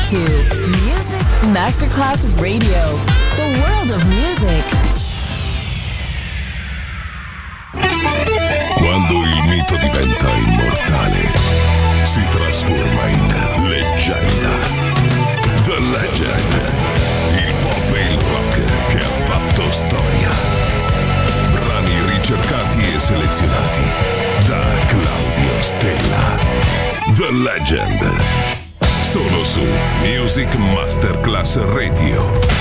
to Music Masterclass Radio, the world of music. Quando il mito diventa immortale, si trasforma in leggenda. The Legend, il pop e il rock che ha fatto storia. Brani ricercati e selezionati da Claudio Stella. The Legend, solo su Music Masterclass Radio.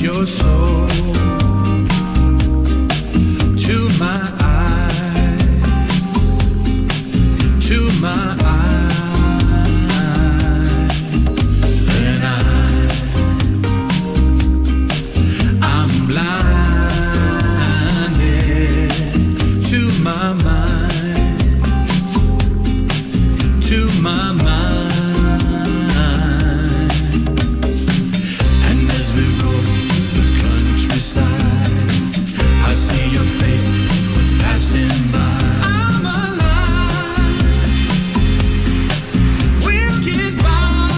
your soul to my eyes, to my eyes, and I'm blinded to my mind, to my mind. I see your face, what's passing by. I'm alive, we'll get by.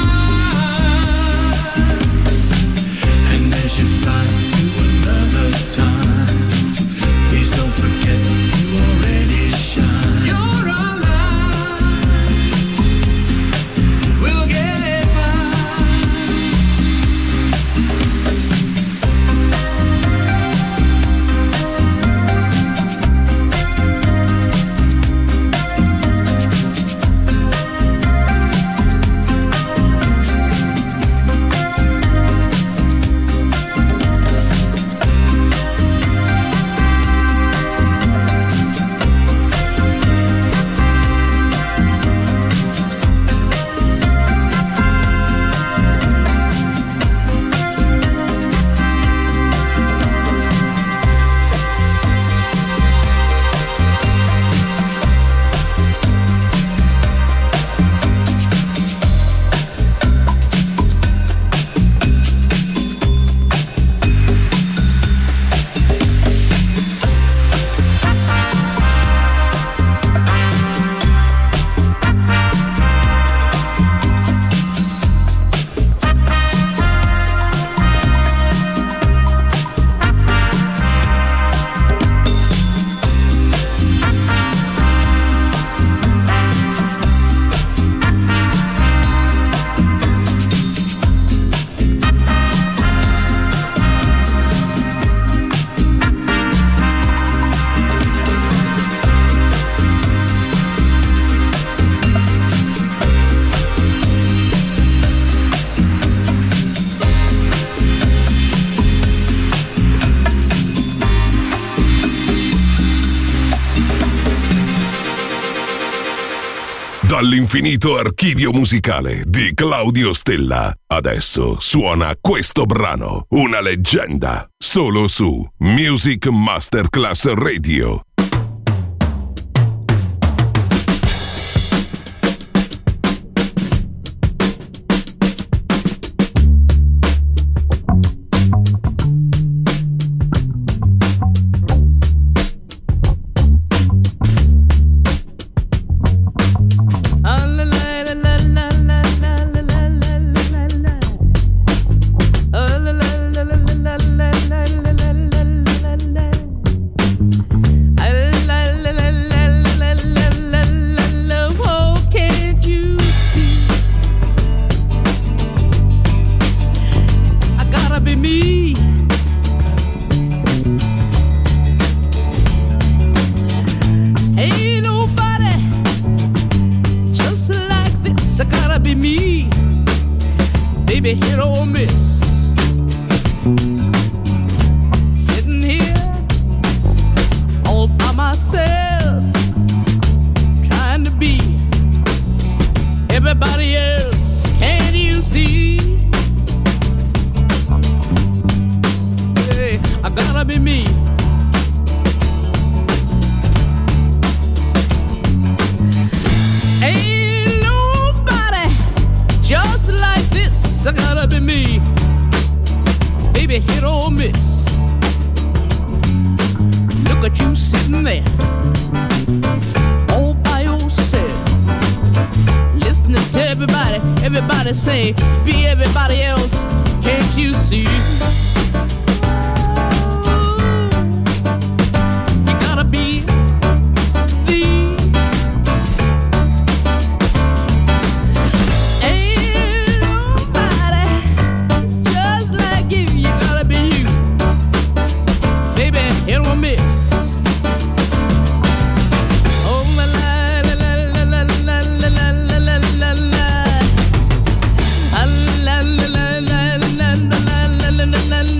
And as you fly to another time, please don't forget you already shine. You're alive, we'll get Dall'infinito archivio musicale di Claudio Stella. Adesso suona questo brano, una leggenda, solo su Music Masterclass Radio. la la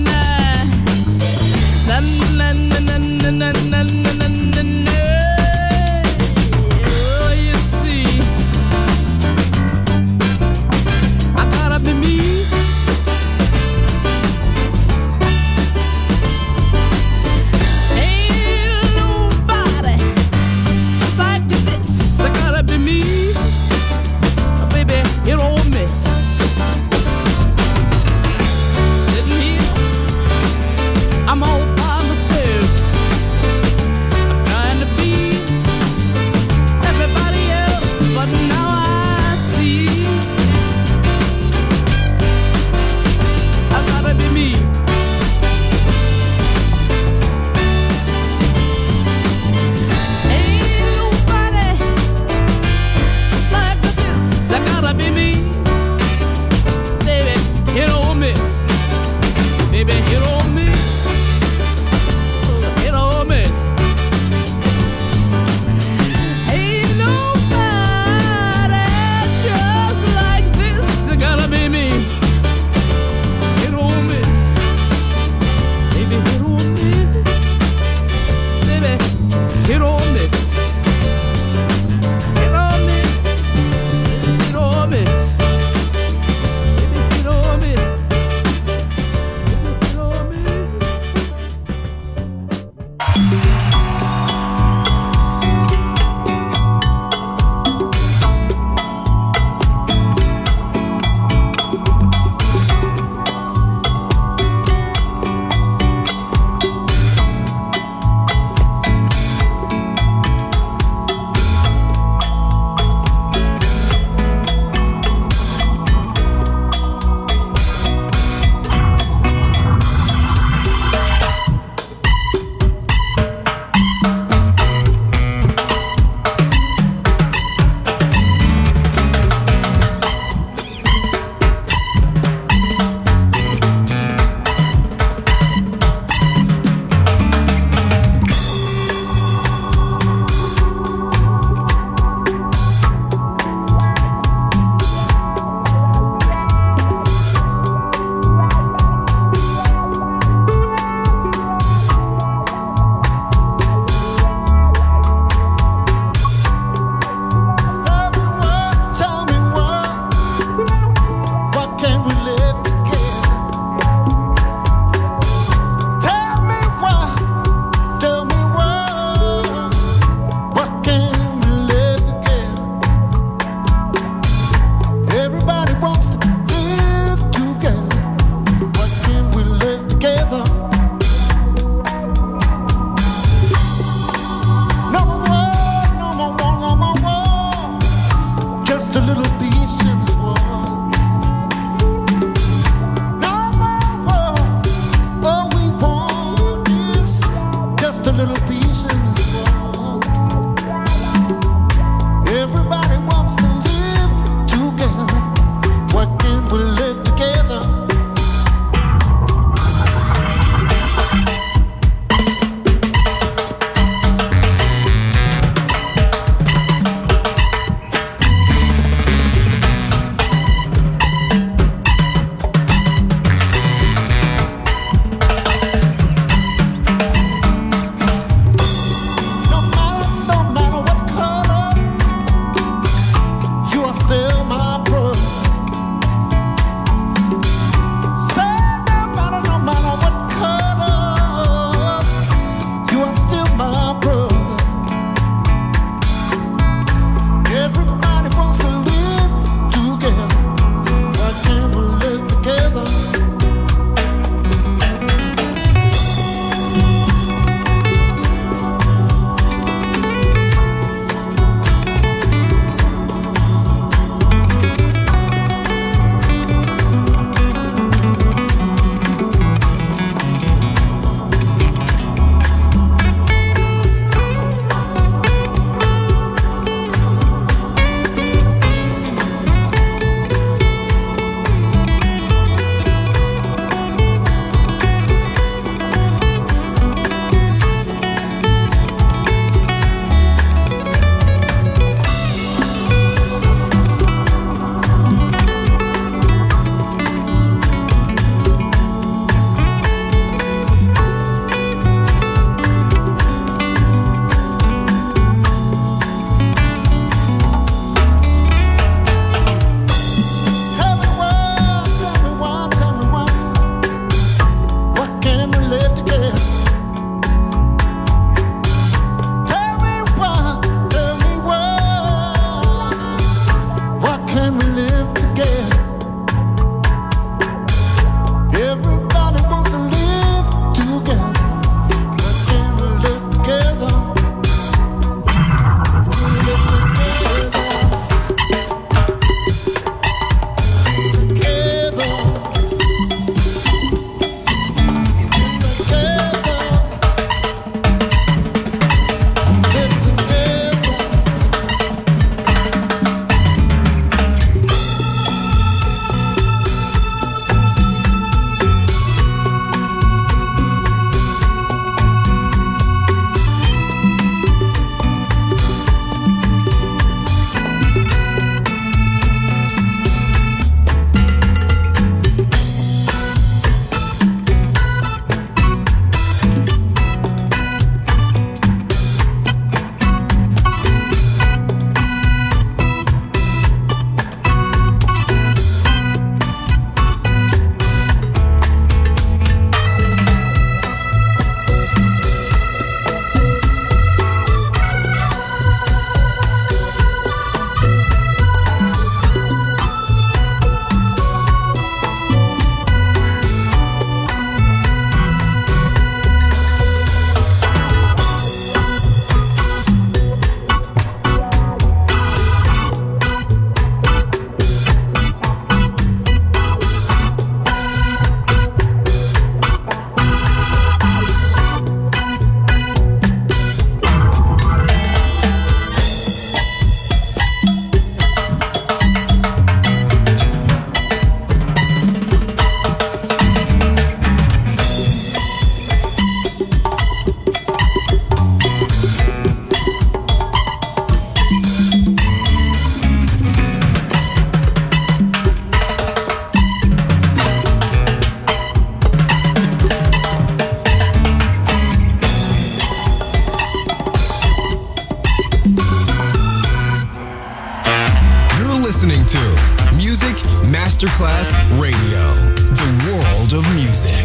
Masterclass Radio, the world of music.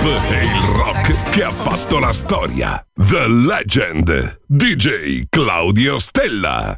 e il rock che ha fatto la storia. The Legend, DJ Claudio Stella.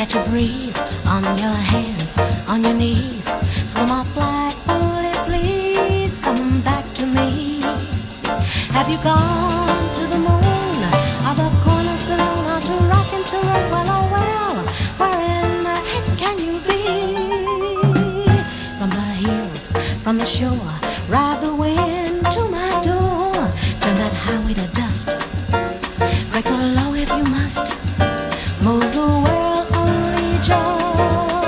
catch a breeze on your hands, on your knees. Swim off like bullet, please come back to me. Have you gone to the moon or the cornerstone or to rockin' to the well, oh well, where in the heck can you be? From the hills, from the shore, ride the wind to my door. Turn that highway to dust, break the law if you must. Move the world only just.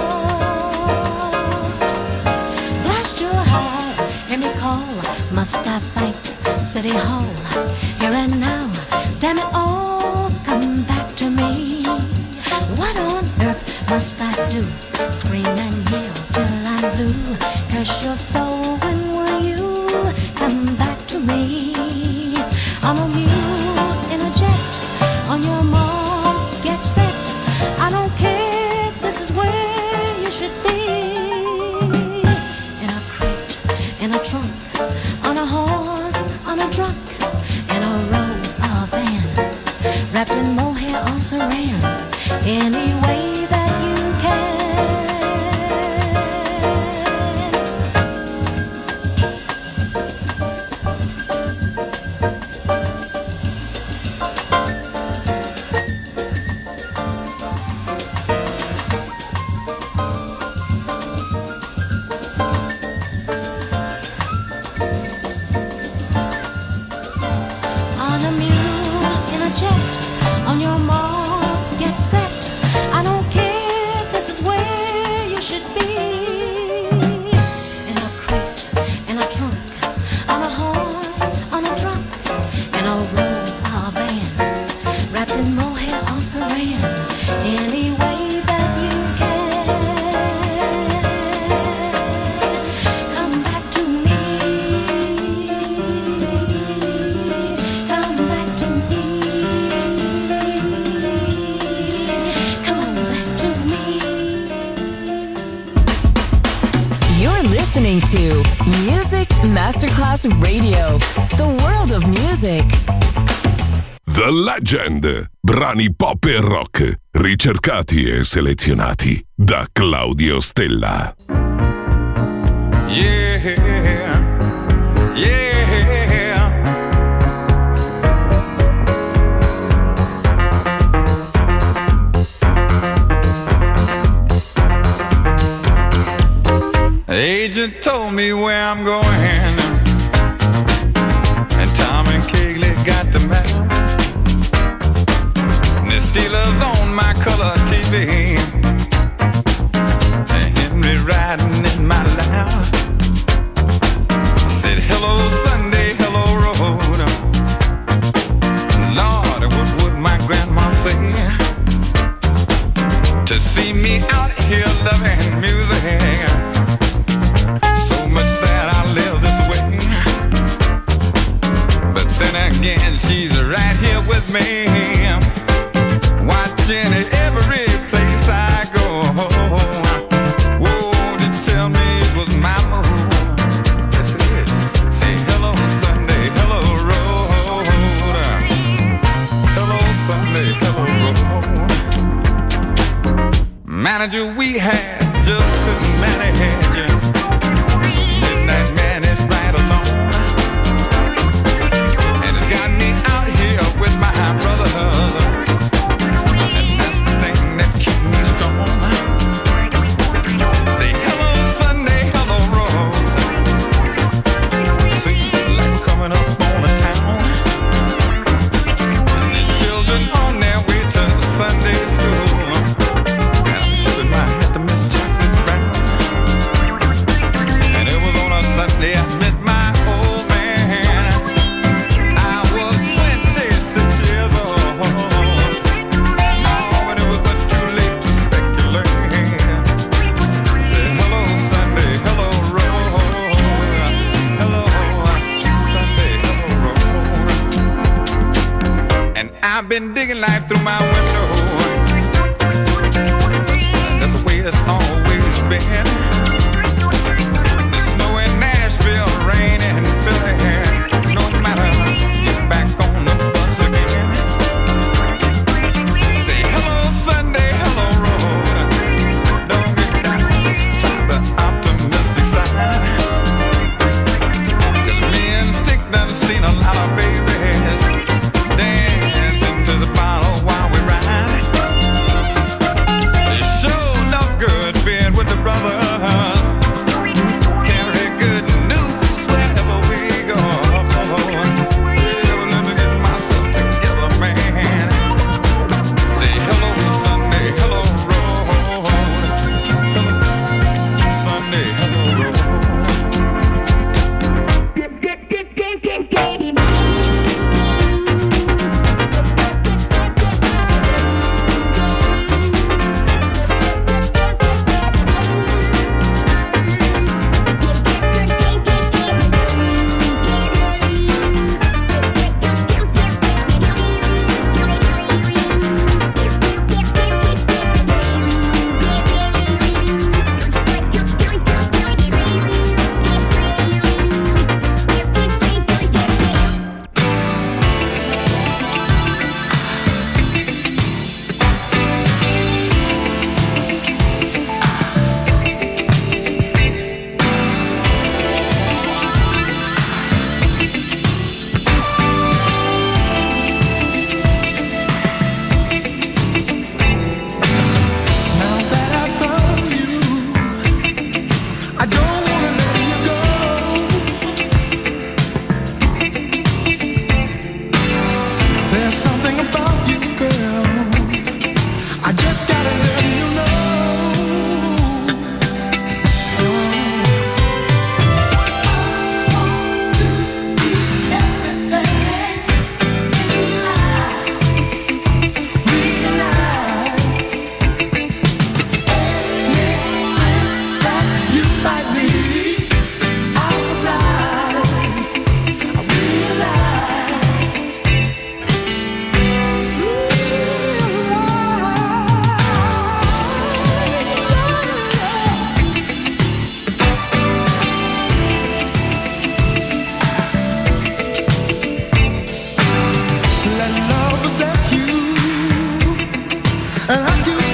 Blast your heart, hear me call. Must I fight City Hall? Here and now, damn it all, come back to me. What on earth must I do? Scream and yell till I'm blue. Curse your soul, when will you come back to me? I'm a mule in a jet, on your mark, get set. I don't care, this is where you should be. In a crate, in a trunk, on a horse, on a truck, in a rose or van, wrapped in mohair or saran, any way that you can. On a mule, in a jet, on your mark, get set. I don't care, this is where you should be. In a crate, in a trunk, on a horse, on a truck, in a rose or van, wrapped in mohair or saran, any way that you can. Come back to me. Come back to me. Come back to me. You're listening to Music Masterclass Radio, the world of music. The Legend. Brani pop e rock, ricercati e selezionati da Claudio Stella. Yeah, yeah. The agent told me where I'm going, and Tom and Kegley got the map. And the Steelers on my color TV, and Henry riding in my lap. Said hello Sunday, hello road. Lord, what would my grandma say to see me out here loving music? So much that I live this way, but then again she's right here with me, watching every place I go. Whoa, to tell me it was my move. Yes it is. Say hello Sunday, hello road. Hello Sunday, hello road. Manager we had just couldn't manage you. So midnight man is right along, and it's got me out here with my brothers, and that's the thing that keeps me strong. Say hello Sunday, hello road. Seems like coming up on a town, and the children on their way to the Sunday school, and I'm tipping my hat to Miss Chocolate Brown. And it was on a Sunday I met my old man. I was 26 years old. Oh, but it was much too late to speculate. I said hello Sunday, hello road. Hello Sunday, hello road. And I've been digging life through my window, and that's the way it's always been. The snow in Nashville, rain in Philly, no matter, get back on the bus again. Say hello Sunday, hello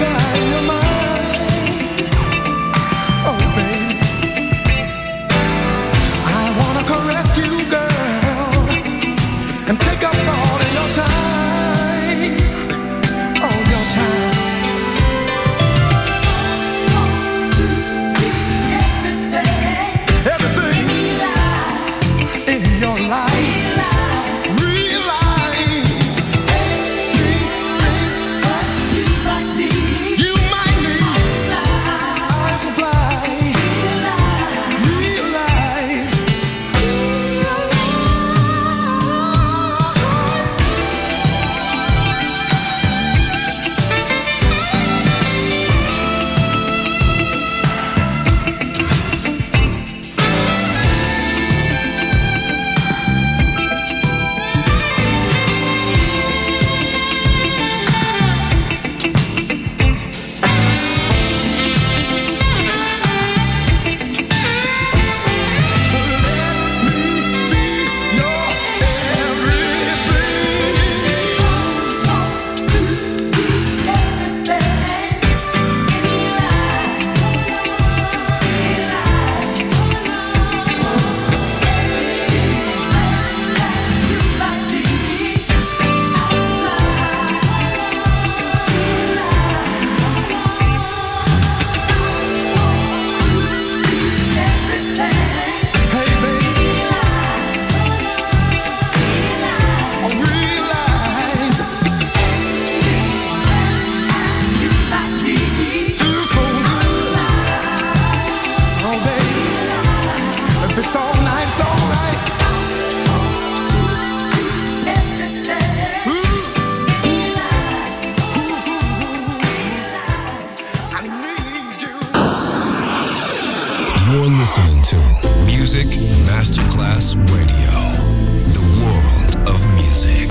You're listening to Music Masterclass Radio, the world of music.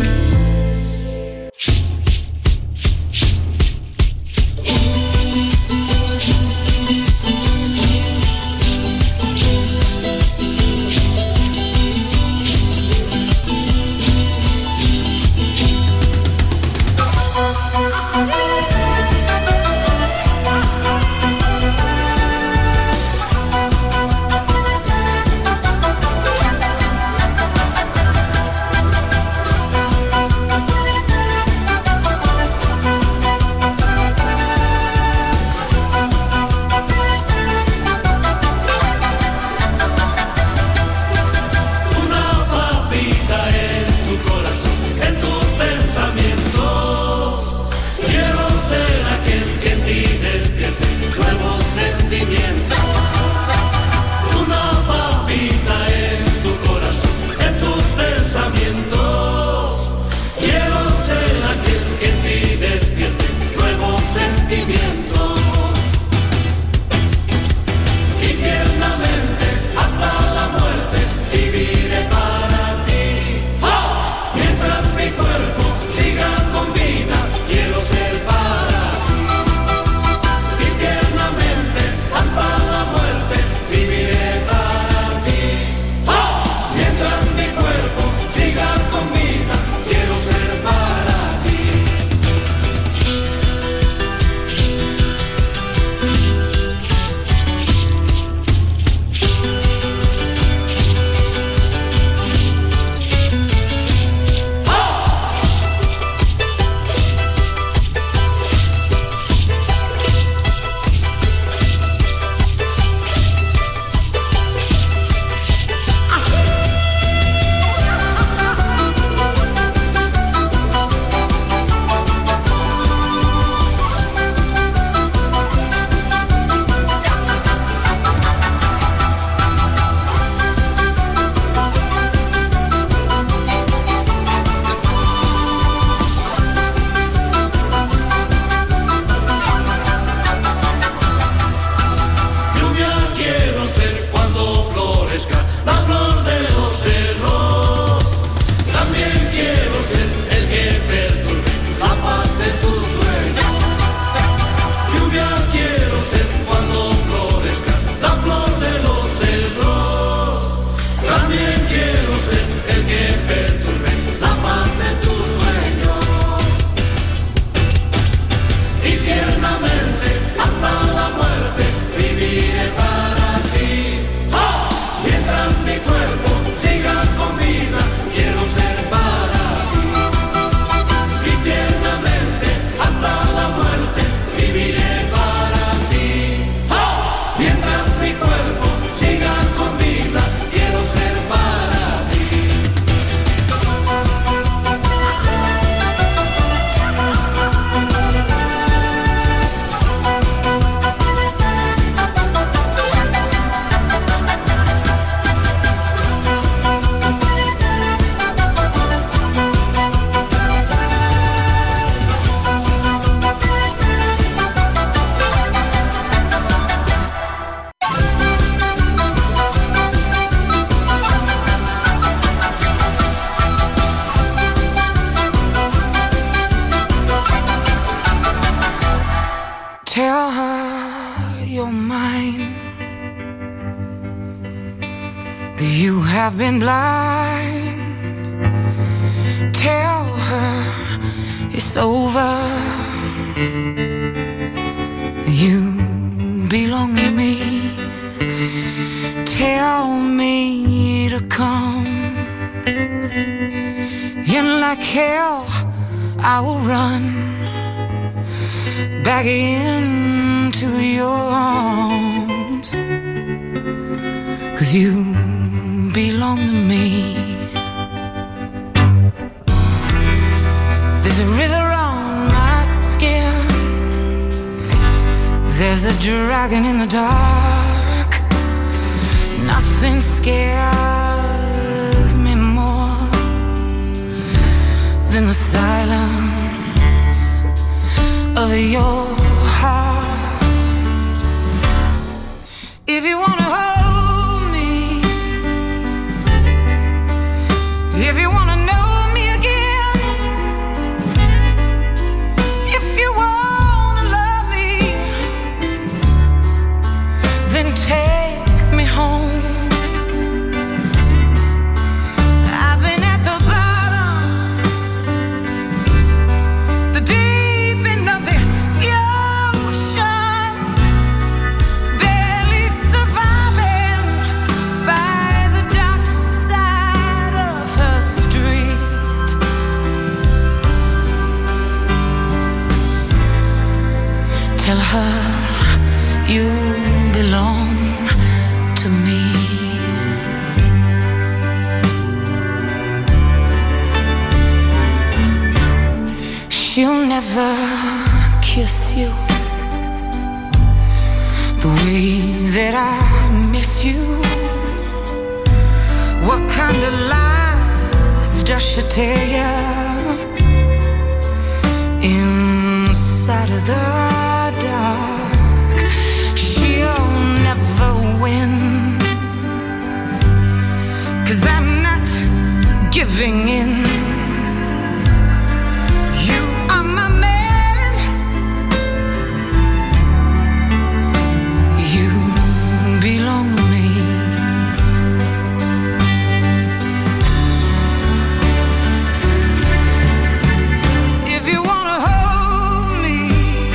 Tell her you're mine, that you have been blind. Tell her it's over, you belong to me. Tell me to come, and like hell I will run back into your arms, 'cause you belong to me. There's a river on my skin, there's a dragon in the dark. Nothing scares me more than the silence of your heart. If you wanna hold me, if you wanna know me again, if you wanna love me, then take me home. I've been at the bottom, the deep end of the ocean, barely surviving by the dark side of her street. Tell her you belong to me. She'll never kiss you the way that I miss you. What kind of lies does she tell you inside of the dark? She'll never win, 'cause I'm not giving in. You are my man, you belong to me. If you wanna hold me,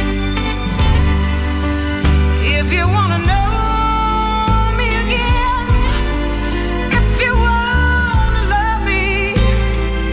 if you wanna know me again, if you wanna love me,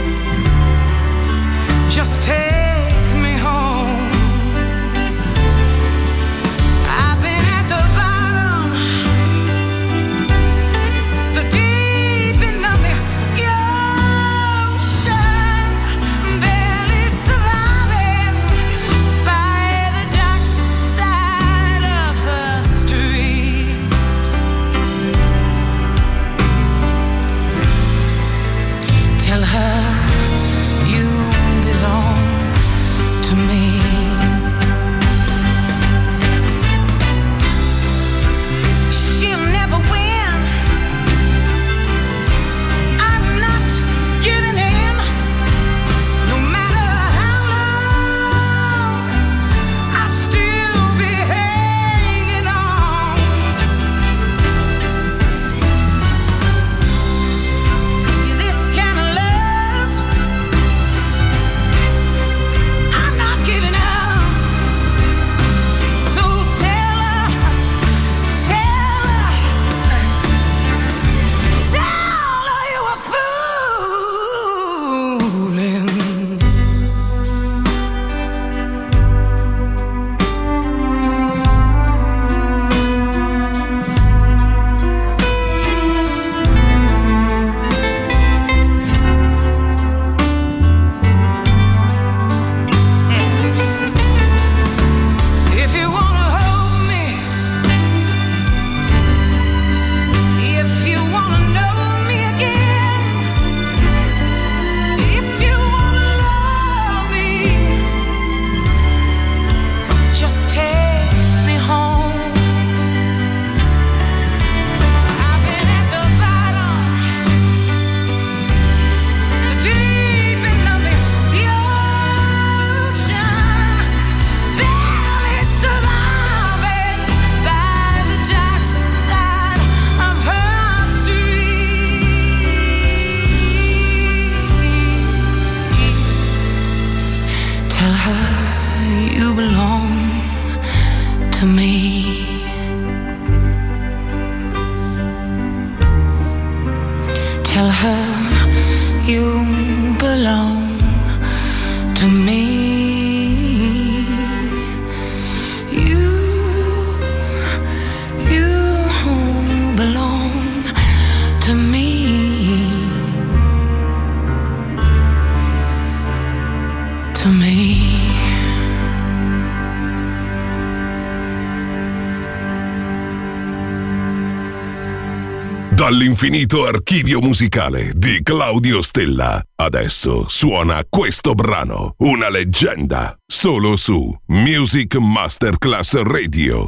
to me. Tell her you belong to me. You belong to me. To me. Dall'infinito archivio musicale di Claudio Stella. Adesso suona questo brano, una leggenda, solo su Music Masterclass Radio.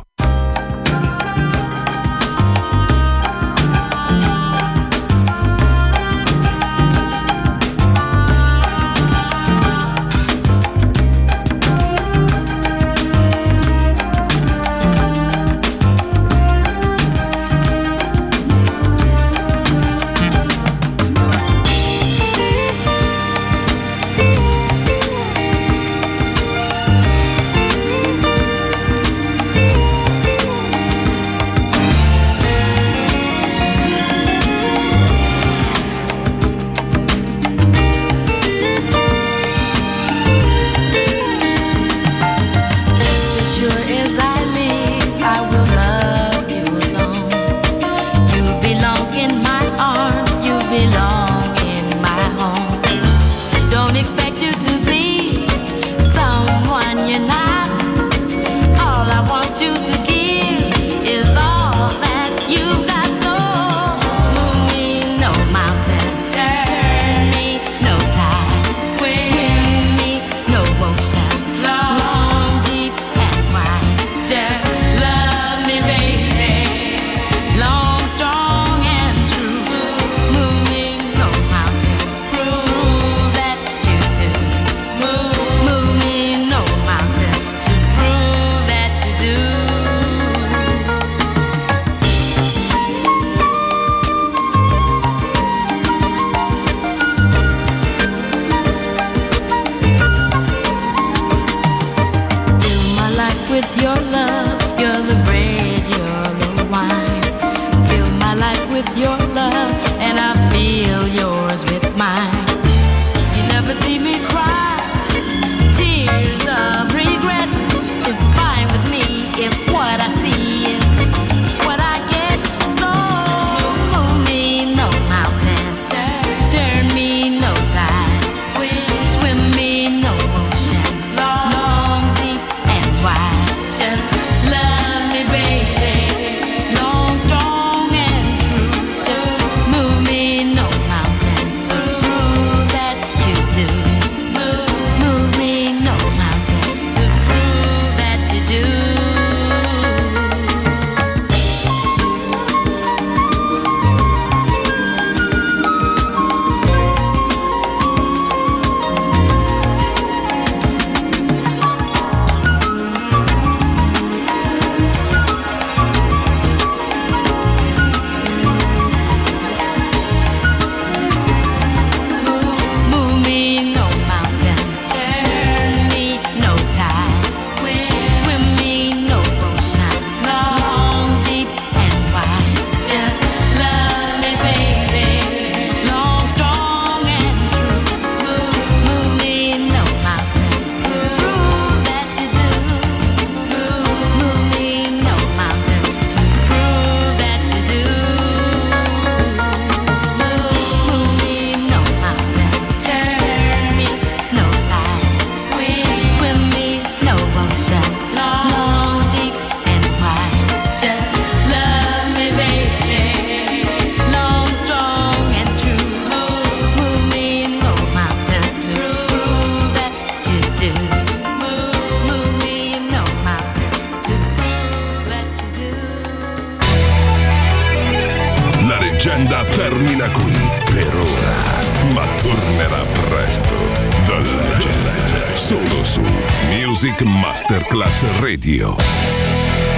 leggenda termina qui per ora, ma tornerà presto. The Legend, solo su Music Masterclass Radio.